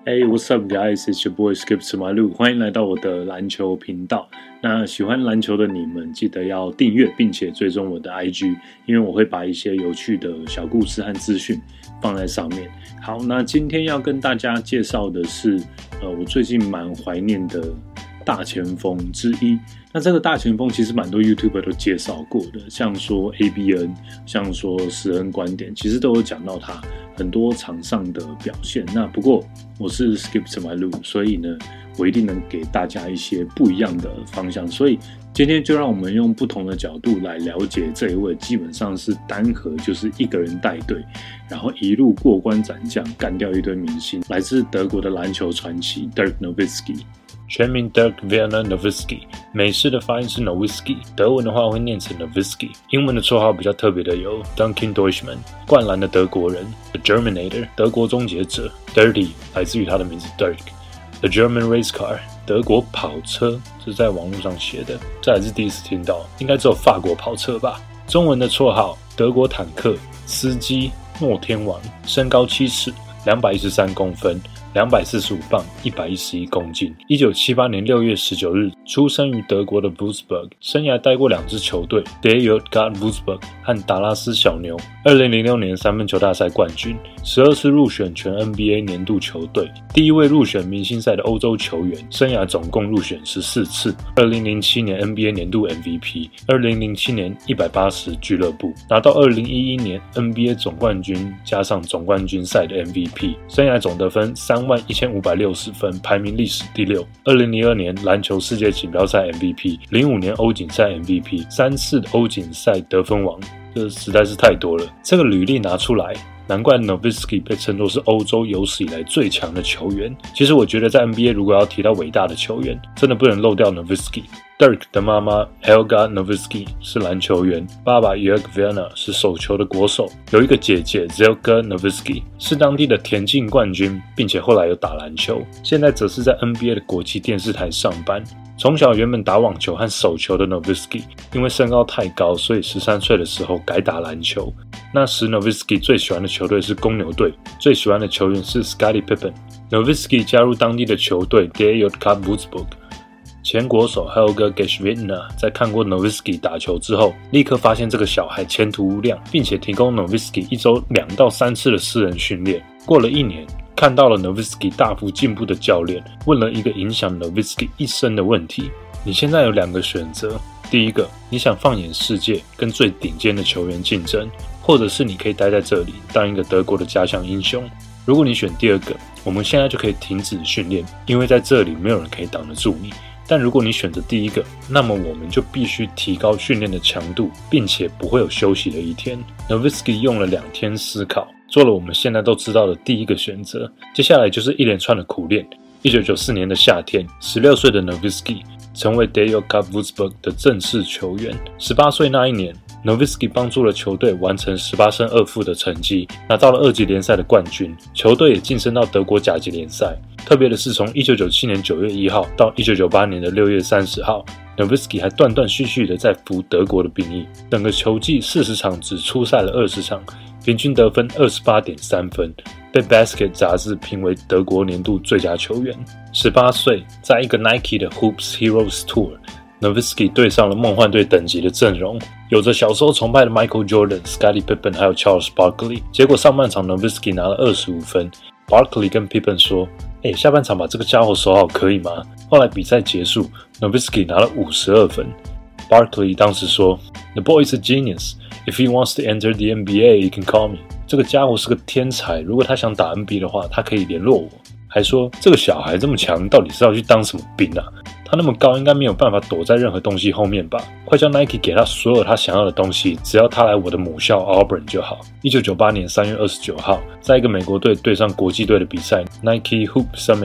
Hey, what's up, guys? It's your boy Skip to my loop. 欢迎来到我的篮球频道。那喜欢篮球的你们，记得要订阅并且追踪我的 IG， 因为我会把一些有趣的小故事和资讯放在上面。好，那今天要跟大家介绍的是，我最近蛮怀念的大前锋之一。那这个大前锋其实蛮多 YouTuber 都介绍过的，像说 ABN， 像说史恩观点，其实都有讲到他很多场上的表现。那不过我是 Skip to my loop， 所以呢，我一定能给大家一些不一样的方向。所以今天就让我们用不同的角度来了解这一位，基本上是单核，就是一个人带队，然后一路过关斩将，干掉一堆明星，来自德国的篮球传奇 Dirk Nowitzki。 全名 Dirk Werner Nowitzki， 美式的发音是 Nowitzki， 德文的话会念成 Nowitzki， 英文的绰号比较特别的有 Duncan Deutschmann， 灌篮的德国人 The Germinator， 德国终结者 Dirty， 来自于他的名字 Dirk， The German Race Car， 德国跑车，这是在网络上写的，这还是第一次听到，应该只有法国跑车吧。中文的绰号德国坦克，司机诺天王，身高7尺213公分245磅111公斤。1978年6月19日出生于德国的 Wolfsburg， 生涯带过2支球队 DJK Wolfsburg 和达拉斯小牛。2006年三分球大赛冠军，12次入选全 NBA 年度球队，第一位入选明星赛的欧洲球员，生涯总共入选14次。2007年 NBA 年度 MVP， 2007年180俱乐部，拿到2011年 NBA 总冠军加上总冠军赛的 MVP， 生涯总得分31560分，排名历史第6。2002年篮球世界锦标赛 MVP， 05年欧锦赛 MVP， 3次欧锦赛得分王，这实在是太多了。这个履历拿出来，难怪 Nowitzki 被称作是欧洲有史以来最强的球员。其实我觉得在 NBA 如果要提到伟大的球员，真的不能漏掉 Nowitzki。Dirk 的妈妈 Helga Nowitzki 是篮球员，爸爸 Jörg Werner 是手球的国手，有一个姐姐 Zelka Nowitzki 是当地的田径冠军，并且后来有打篮球，现在则是在 NBA 的国际电视台上班。从小原本打网球和手球的 Nowitzki， 因为身高太高，所以13岁的时候改打篮球。那时 Nowitzki 最喜欢的球队是公牛队，最喜欢的球员是 Scottie Pippen。Nowitzki 加入当地的球队 DJK Wolfsburg。前国手 Helga Geschwindner 在看过 Nowitzki 打球之后，立刻发现这个小孩前途无量，并且提供 Nowitzki 一周2到3次的私人训练。过了1年，看到了 Nowitzki 大幅进步的教练，问了一个影响 Nowitzki 一生的问题：你现在有2个选择，第一个，你想放眼世界，跟最顶尖的球员竞争，或者是你可以待在这里，当一个德国的家乡英雄。如果你选第2个，我们现在就可以停止训练，因为在这里没有人可以挡得住你。但如果你选择第1个，那么我们就必须提高训练的强度，并且不会有休息的一天。Nowitzki 用了2天思考，做了我们现在都知道的第1个选择。接下来就是一连串的苦练。1994年的夏天，16岁的 Nowitzki 成为 DJK Wolfsburg 的正式球员。18岁那一年，Nowitzki 帮助了球队完成18胜2负的成绩，拿到了2级联赛的冠军，球队也晋升到德国甲级联赛。特别的是，从1997年9月1号到1998年的6月30号 ，Nowitzki 还断断续续的在服德国的兵役。整个球季40场只出赛了20场，平均得分28.3分，被 Basket 杂志评为德国年度最佳球员。18岁，在一个 Nike 的 Hoops Heroes Tour，Nowitzki 对上了梦幻队等级的阵容，有着小时候崇拜的 Michael Jordan、Scottie Pippen 还有 Charles Barkley。结果上半场 Nowitzki 拿了25分 ，Barkley 跟 Pippen 说：“下半场把这个家伙守好可以吗？”后来比赛结束 ，Nowitzki 拿了52分。Barkley 当时说 ：“The boy is a genius. If he wants to enter the NBA, he can call me。”这个家伙是个天才，如果他想打 NBA 的话，他可以联络我。还说这个小孩这么强，到底是要去当什么兵啊？他那么高，应该没有办法躲在任何东西后面吧？快叫 Nike 给他所有他想要的东西，只要他来我的母校 Auburn 就好。1998年3月29号，在一个美国队对上国际队的比赛 Nike Hoop Summit，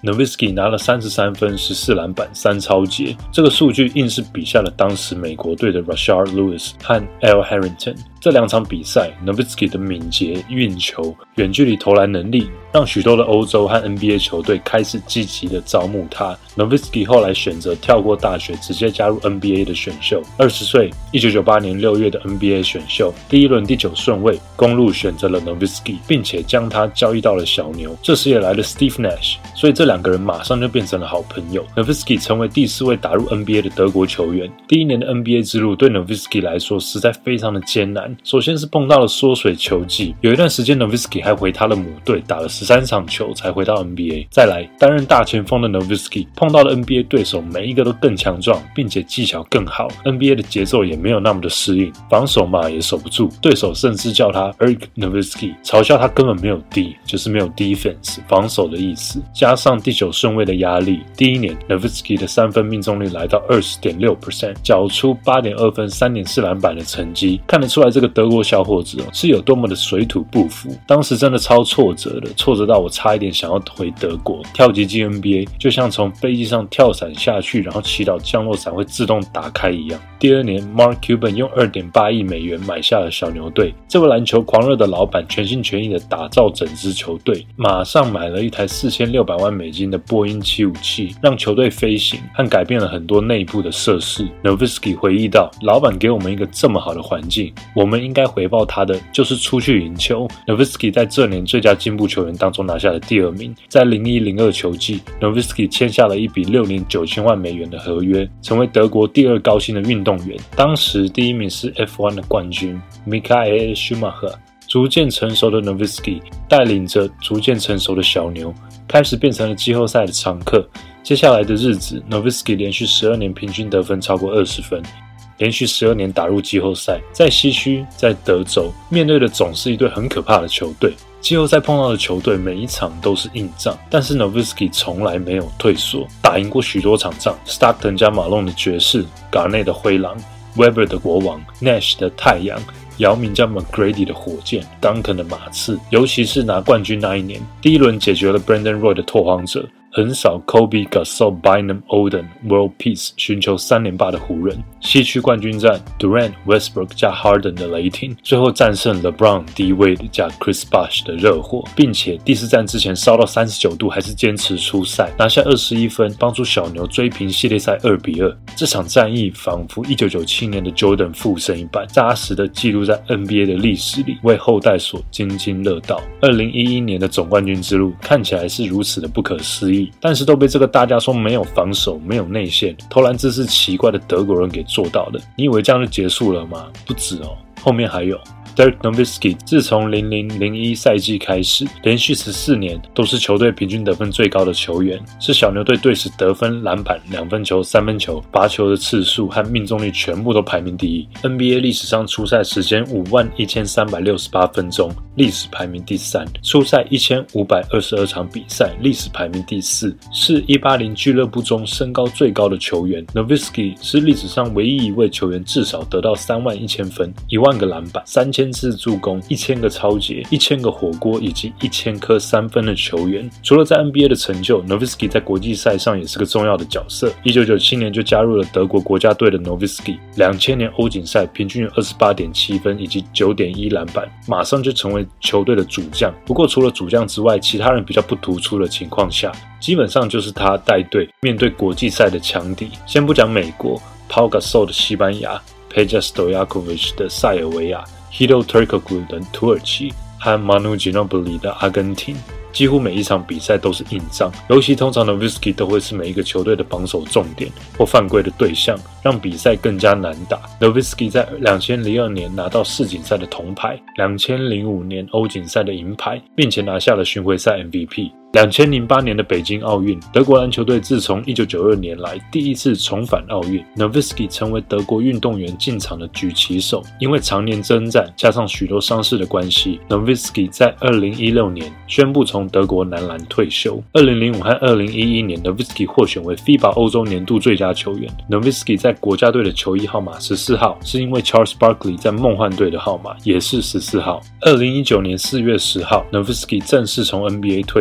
Nowitzki 拿了33分、14篮板、3抄截，这个数据硬是比下了当时美国队的 Rashard Lewis 和 Al Harrington。这2场比赛 Nowitzki 的敏捷、运球、远距离投篮能力，让许多的欧洲和 NBA 球队开始积极的招募他。Nowitzki 后来选择跳过大学，直接加入 NBA 的选秀。20岁，1998年6月的 NBA 选秀，第一轮第9顺位，公鹿选择了 Nowitzki， 并且将他交易到了小牛。这时也来了 Steve Nash， 所以这2个人马上就变成了好朋友。Nowitzki 成为第4位打入 NBA 的德国球员。第1年的 NBA 之路对 Nowitzki 来说实在非常的艰难。首先是碰到了缩水球季，有一段时间 Nowitzki 还回他的母队打了13场球才回到 NBA。再来，担任大前锋的 Nowitzki 碰到了 NBA 对手每一个都更强壮，并且技巧更好， NBA 的节奏也没有那么的适应，防守嘛也守不住，对手甚至叫他 Irk Nowitzki， 嘲笑他根本没有 D， 就是没有 defense 防守的意思。加上第9顺位的压力，第1年 Nowitzki 的3分命中率来到 20.6%， 缴出 8.2分 3.4篮板的成绩，看得出来这个德国小伙子是有多么的水土不服。当时真的超挫折的，挫折到我差一点想要回德国，跳级进 NBA 就像从飞机上跳伞下去，然后祈祷降落伞会自动打开一样。第2年 Mark Cuban 用 2.8 亿美元买下了小牛队，这位篮球狂热的老板全心全意的打造整支球队，马上买了一台4600万美金的波音757，让球队飞行和改变了很多内部的设施。 Nowitzki 回忆到，老板给我们一个这么好的环境，我们应该回报他的就是出去赢球。 Nowitzki 在这年最佳进步球员当中拿下了第2名。在01-02球季 Nowitzki 签下了一笔6年9000万美元的合约，成为德国第2高薪的运动员。当时第1名是 F1 的冠军 Michael Schumacher。逐渐成熟的 Nowitzki 带领着逐渐成熟的小牛，开始变成了季后赛的常客。接下来的日子 Nowitzki 连续12年平均得分超过20分，连续12年打入季后赛。在西区，在德州，面对的总是一队很可怕的球队。季后赛碰到的球队每一场都是硬仗，但是 Nowitzki 从来没有退缩，打赢过许多场仗。Stockton 加马龙的爵士， Garnett 的灰狼， Webber 的国王， Nash 的太阳，姚明加 McGrady 的火箭， Duncan 的马刺。尤其是拿冠军那一年，第1轮解决了 Brandon Roy 的拓荒者，横扫 Kobe、Gasol、Bynum、Oden、World Peace， 寻求3连霸的湖人。西区冠军战 Durant、Westbrook 加 Harden 的雷霆，最后战胜 LeBron、D-Wade 加 Chris Bosh 的热火，并且第4战之前烧到39度，还是坚持出赛，拿下21分，帮助小牛追平系列赛2-2。这场战役仿佛1997年的 Jordan 复生一般，扎实的记录在 NBA 的历史里，为后代所津津乐道。2011年的总冠军之路看起来是如此的不可思议，但是都被这个大家说没有防守、没有内线、投篮姿势奇怪的德国人给做到了。你以为这样就结束了吗？不止哦，后面还有。Dirk Nowitzki 自从00-01赛季开始，连续14年都是球队平均得分最高的球员，是小牛队队史得分、篮板、2分球、3分球、罚球的次数和命中率全部都排名第1。NBA 历史上出赛时间51368分钟，历史排名第3；出赛1522场比赛，历史排名第4，是180俱乐部中身高最高的球员。Nowitzki 是历史上唯一一位球员至少得到31000分、10000个篮板、3000次助攻、1000个抄截、1000个火锅以及1000颗3分的球员。除了在 NBA 的成就， Nowitzki 在国际赛上也是个重要的角色。1997年就加入了德国国家队的 Nowitzki， 2000年欧锦赛平均有 28.7 分以及 9.1 篮板，马上就成为球队的主将。不过除了主将之外，其他人比较不突出的情况下，基本上就是他带队面对国际赛的强敌。先不讲美国 Pau Gasol 的西班牙， Peja Stojakovic 的塞尔维亚， Hedo Turkoglu 的土耳其和 Manu Ginobili 的阿根廷。几乎每一场比赛都是硬仗，尤其通常 Nowitzki 都会是每一个球队的防守重点或犯规的对象，让比赛更加难打。Nowitzki 在2002年拿到世锦赛的铜牌，2005年欧锦赛的银牌，并且拿下了巡回赛 MVP。2008年的北京奥运，德国篮球队自从1992年来第一次重返奥运， Nowitzki 成为德国运动员进场的举旗手。因为常年征战加上许多伤势的关系， Nowitzki 在2016年宣布从德国男篮退休。2005和2011年 Nowitzki 获选为 FIBA 欧洲年度最佳球员。 Nowitzki 在国家队的球衣号码14号，是因为 Charles Barkley 在梦幻队的号码也是14号。2019年4月10号 Nowitzki 正式从 NBA 退休，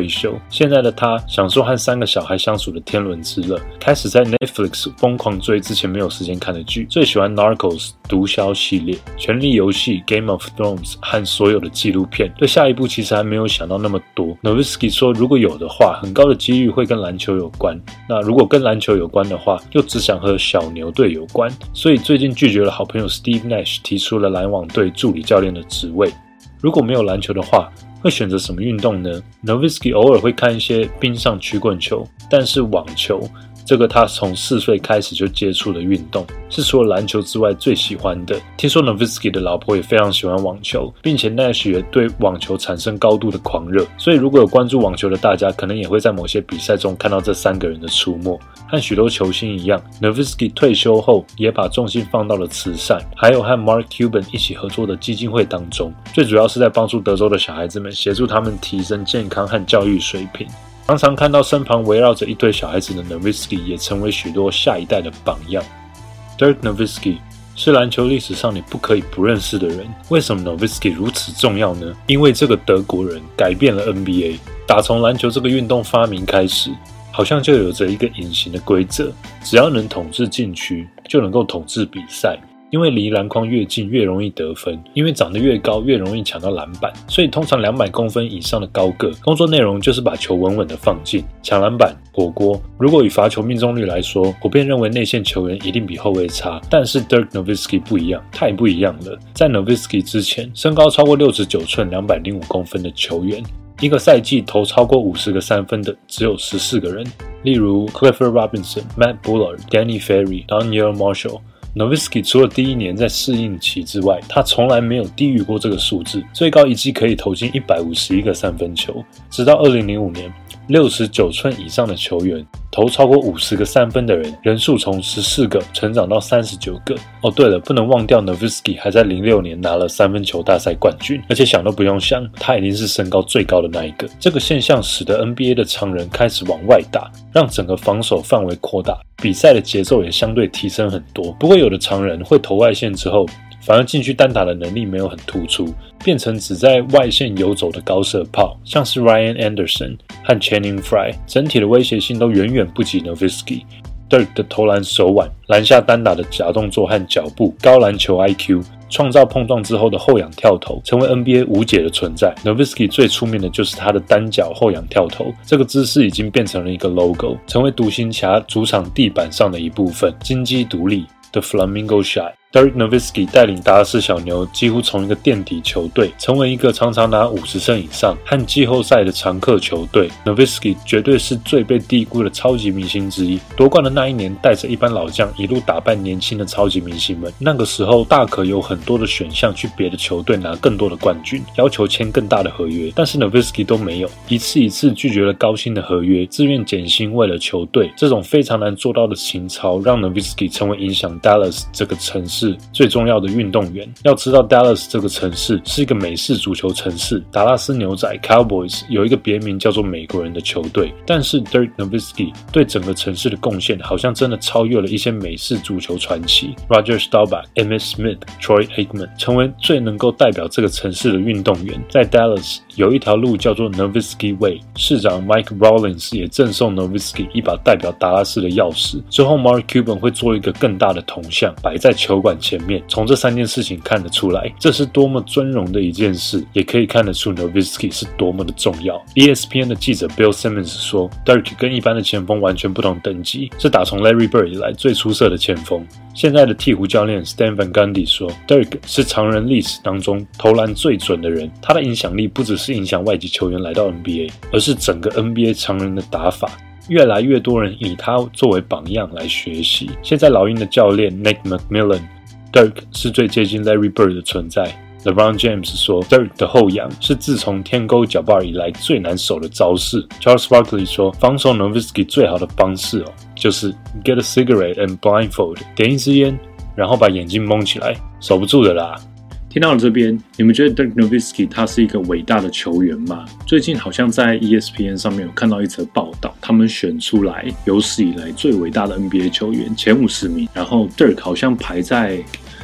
现在的他享受和3个小孩相处的天伦之乐，开始在 Netflix 疯狂追之前没有时间看的剧，最喜欢 Narcos 毒枭系列、权力游戏、Game of Thrones 和所有的纪录片。对下一部其实还没有想到那么多。Nowitzki 说，如果有的话，很高的几率会跟篮球有关。那如果跟篮球有关的话，又只想和小牛队有关，所以最近拒绝了好朋友 Steve Nash 提出了篮网队助理教练的职位。如果没有篮球的话，会选择什么运动呢？ Nowitzki 偶尔会看一些冰上曲棍球，但是网球这个他从4岁开始就接触的运动，是除了篮球之外最喜欢的。听说 Nowitzki 的老婆也非常喜欢网球，并且 Nash 也对网球产生高度的狂热，所以如果有关注网球的大家，可能也会在某些比赛中看到这3个人的出没。和许多球星一样， Nowitzki 退休后也把重心放到了慈善，还有和 Mark Cuban 一起合作的基金会当中，最主要是在帮助德州的小孩子们，协助他们提升健康和教育水平。常常看到身旁围绕着一堆小孩子的 Nowitzki 也成为许多下一代的榜样。Dirk Nowitzki 是篮球历史上你不可以不认识的人。为什么 Nowitzki 如此重要呢？因为这个德国人改变了 NBA。打从篮球这个运动发明开始，好像就有着一个隐形的规则，只要能统治禁区，就能够统治比赛。因为离篮筐越近越容易得分，因为长得越高越容易抢到篮板，所以通常200公分以上的高个，工作内容就是把球稳稳的放进，抢篮板、火锅。如果以罚球命中率来说，普遍认为内线球员一定比后卫差，但是 Dirk Nowitzki 不一样，太不一样了。在 Nowitzki 之前，身高超过69寸、205公分的球员，一个赛季投超过50个3分的只有14个人，例如 Clifford Robinson、Matt Bullard、Danny Ferry、Donyell Marshall。Nowitzki 除了第1年在适应期之外，他从来没有低于过这个数字，最高一季可以投进151个3分球。直到2005年，69寸以上的球员投超过50个3分的人数从14个成长到39个。哦，对了，不能忘掉 Nowitzki 还在06年拿了3分球大赛冠军，而且想都不用想，他一定是身高最高的那一个。这个现象使得 NBA 的常人开始往外打，让整个防守范围扩大，比赛的节奏也相对提升很多。不过有的常人会投外线之后，反而禁区单打的能力没有很突出，变成只在外线游走的高射炮，像是 Ryan Anderson 和 Channing Frye， 整体的威胁性都远远不及 Nowitzki。Dirk 的投篮手腕、篮下单打的假动作和脚步、高篮球 IQ， 创造碰撞之后的后仰跳投，成为 NBA 无解的存在。Nowitzki 最出名的就是他的单脚后仰跳投，这个姿势已经变成了一个 logo， 成为独行侠主场地板上的一部分，金鸡独立的 Flamingo Shot。Dirk Nowitzki 带领达拉斯小牛几乎从一个垫底球队成为一个常常拿50胜以上和季后赛的常客球队。Nowitzki 绝对是最被低估的超级明星之一。夺冠的那一年，带着一班老将一路打败年轻的超级明星们。那个时候大可有很多的选项去别的球队拿更多的冠军，要求签更大的合约，但是 Nowitzki 都没有，一次一次拒绝了高薪的合约，自愿减薪为了球队。这种非常难做到的情操，让 Nowitzki 成为影响 Dallas 这个城市最重要的运动员。要知道 Dallas 这个城市是一个美式足球城市，达拉斯牛仔 Cowboys 有一个别名叫做美国人的球队，但是 Dirk Nowitzki 对整个城市的贡献好像真的超越了一些美式足球传奇 Roger Staubach、Emmitt Smith、Troy Aikman， 成为最能够代表这个城市的运动员。在 Dallas 有一条路叫做 Nowitzki Way， 市长 Mike Rawlings 也赠送 Nowitzki 一把代表达拉斯的钥匙。之后 Mark Cuban 会做一个更大的铜像摆在球馆前面。从这3件事情看得出来，这是多么尊荣的一件事，也可以看得出 Nowitzki 是多么的重要。 ESPN 的记者 Bill Simmons 说， Dirk 跟一般的前锋完全不同等级，是打从 Larry Bird 以来最出色的前锋。现在的鹈鹕教练 Stan Van Gundy 说， Dirk 是常人历史当中投篮最准的人，他的影响力不只是影响外籍球员来到 NBA， 而是整个 NBA 常人的打法。越来越多人以他作为榜样来学习。现在老鹰的教练 Nate McMillan，Dirk 是最接近 Larry Bird 的存在。LeBron James 说 Dirk 的后仰是自从天勾脚把以来最难守的招式。Charles Barkley 说，防守 Nowitzki 最好的方式就是 get a cigarette and blindfold， 点一支烟，然后把眼睛蒙起来，守不住的啦。 听到了这边，你们觉得 Dirk Nowitzki 他是一个伟大的球员吗？最近好像在 ESPN 上面有看到一则报道，他们选出来有史以来最伟大的 NBA 球员前50名，然后 Dirk 好像排在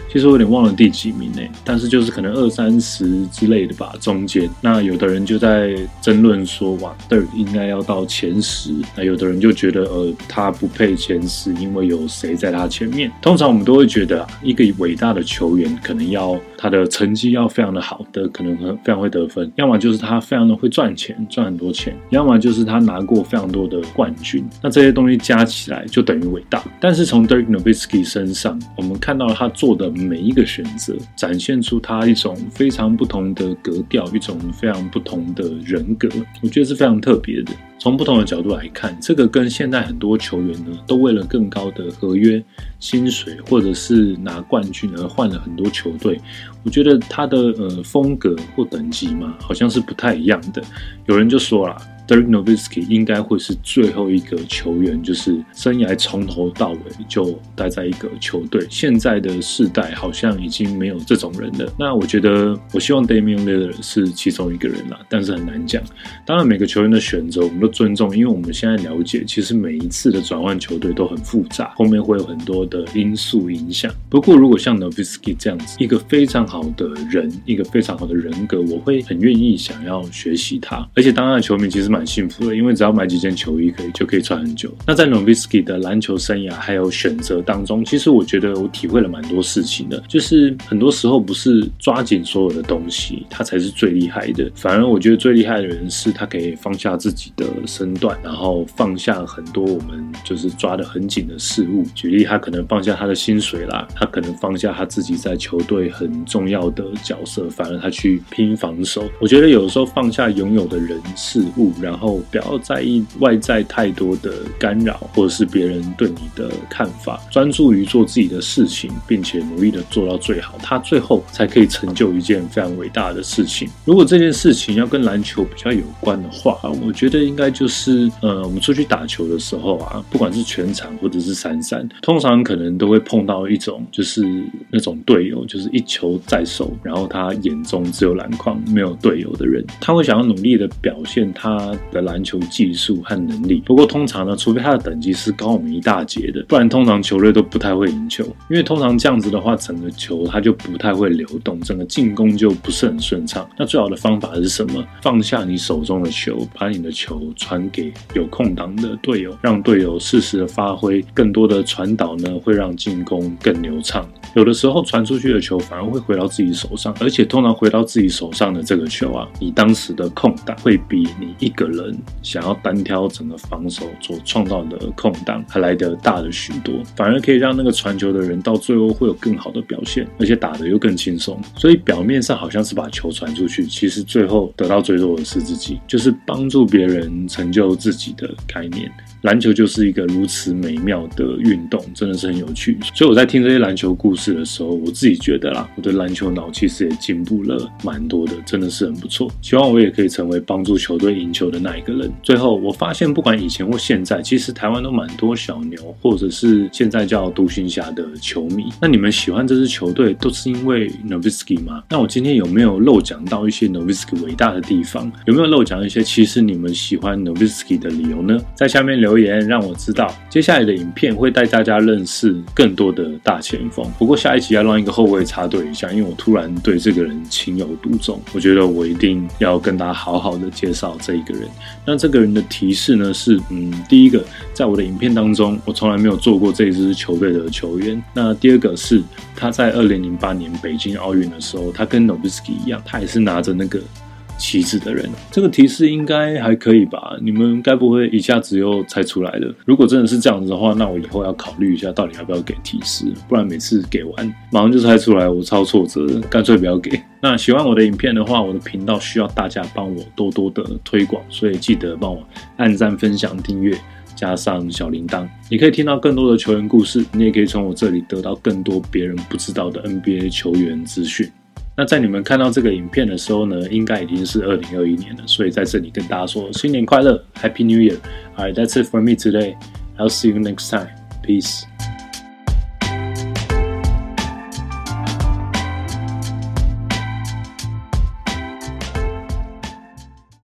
其实我有点忘了第几名但是就是可能20-30之类的吧，中间。那有的人就在争论说，哇 Dirk 应该要到前10，那有的人就觉得他不配前10，因为有谁在他前面。通常我们都会觉得一个伟大的球员可能要他的成绩要非常的好的，可能非常会得分，要么就是他非常的会赚钱，赚很多钱，要么就是他拿过非常多的冠军。那这些东西加起来就等于伟大。但是从 Dirk Nowitzki 身上，我们看到他做的每一个选择，展现出他一种非常不同的格调，一种非常不同的人格，我觉得是非常特别的。从不同的角度来看，这个跟现在很多球员呢，都为了更高的合约、薪水或者是拿冠军而换了很多球队。我觉得他的风格或等级嘛，好像是不太一样的。有人就说啦，Dirk Nowitzki 应该会是最后一个球员，就是生涯从头到尾就待在一个球队。现在的世代好像已经没有这种人了。那我觉得，我希望 Damian Lillard 是其中一个人啦，但是很难讲。当然，每个球员的选择我们都尊重，因为我们现在了解，其实每一次的转换球队都很复杂，后面会有很多的因素影响。不过，如果像 Nowitzki 这样子，一个非常好的人，一个非常好的人格，我会很愿意想要学习他。而且，当他的球迷其实蛮幸福的，因为只要买几件球衣就可以穿很久。那在 Nowitzki 的篮球生涯还有选择当中，其实我觉得我体会了蛮多事情的，就是很多时候不是抓紧所有的东西，他才是最厉害的。反而我觉得最厉害的人是他可以放下自己的身段，然后放下很多我们就是抓得很紧的事物。举例，他可能放下他的薪水啦，他可能放下他自己在球队很重要的角色，反而他去拼防守。我觉得有时候放下拥有的人事物，然后不要在意外在太多的干扰，或者是别人对你的看法，专注于做自己的事情，并且努力的做到最好，他最后才可以成就一件非常伟大的事情。如果这件事情要跟篮球比较有关的话，我觉得应该就是我们出去打球的时候啊，不管是全场或者是3-3，通常可能都会碰到一种就是那种队友，就是一球在手，然后他眼中只有篮筐没有队友的人，他会想要努力的表现他的篮球技术和能力。不过通常呢，除非他的等级是高我们一大截的，不然通常球队都不太会赢球。因为通常这样子的话，整个球它就不太会流动，整个进攻就不是很顺畅。那最好的方法是什么？放下你手中的球，把你的球传给有空档的队友，让队友适时的发挥。更多的传导呢，会让进攻更流畅。有的时候传出去的球反而会回到自己手上，而且通常回到自己手上的这个球啊，你当时的空档会比你一个人想要单挑整个防守所创造的空档还来得大了许多，反而可以让那个传球的人到最后会有更好的表现，而且打得又更轻松。所以表面上好像是把球传出去，其实最后得到最多的是自己，就是帮助别人成就自己的概念。篮球就是一个如此美妙的运动，真的是很有趣。所以我在听这些篮球故事的时候，我自己觉得啦，我的篮球脑其实也进步了蛮多的，真的是很不错。希望我也可以成为帮助球队赢球的那一个人。最后我发现不管以前或现在，其实台湾都蛮多小牛或者是现在叫独行侠的球迷。那你们喜欢这支球队都是因为 Nowitzki 吗？那我今天有没有漏讲到一些 Nowitzki 伟大的地方？有没有漏讲一些其实你们喜欢 Nowitzki 的理由呢？在下面留言让我知道。接下来的影片会带大家认识更多的大前锋，不过下一集要让一个后卫插队一下，因为我突然对这个人情有独钟，我觉得我一定要跟大家好好的介绍这一个人。那这个人的提示呢是，第一个，在我的影片当中，我从来没有做过这一支球队的球员。那第二个是他在2008年北京奥运的时候，他跟 Nowitzki 一样，他也是拿着那个旗帜的人。这个提示应该还可以吧？你们该不会一下子又猜出来了？如果真的是这样子的话，那我以后要考虑一下到底要不要给提示，不然每次给完马上就猜出来，我超挫折的，干脆不要给。那喜欢我的影片的话，我的频道需要大家帮我多多的推广，所以记得帮我按赞、分享、订阅加上小铃铛，你可以听到更多的球员故事，你也可以从我这里得到更多别人不知道的 NBA 球员资讯。那在你们看到这个影片的时候呢，应该已经是2021年了，所以在这里跟大家说新年快乐 ，Happy New Year！ Alright, that's it for me today. I'll see you next time. Peace.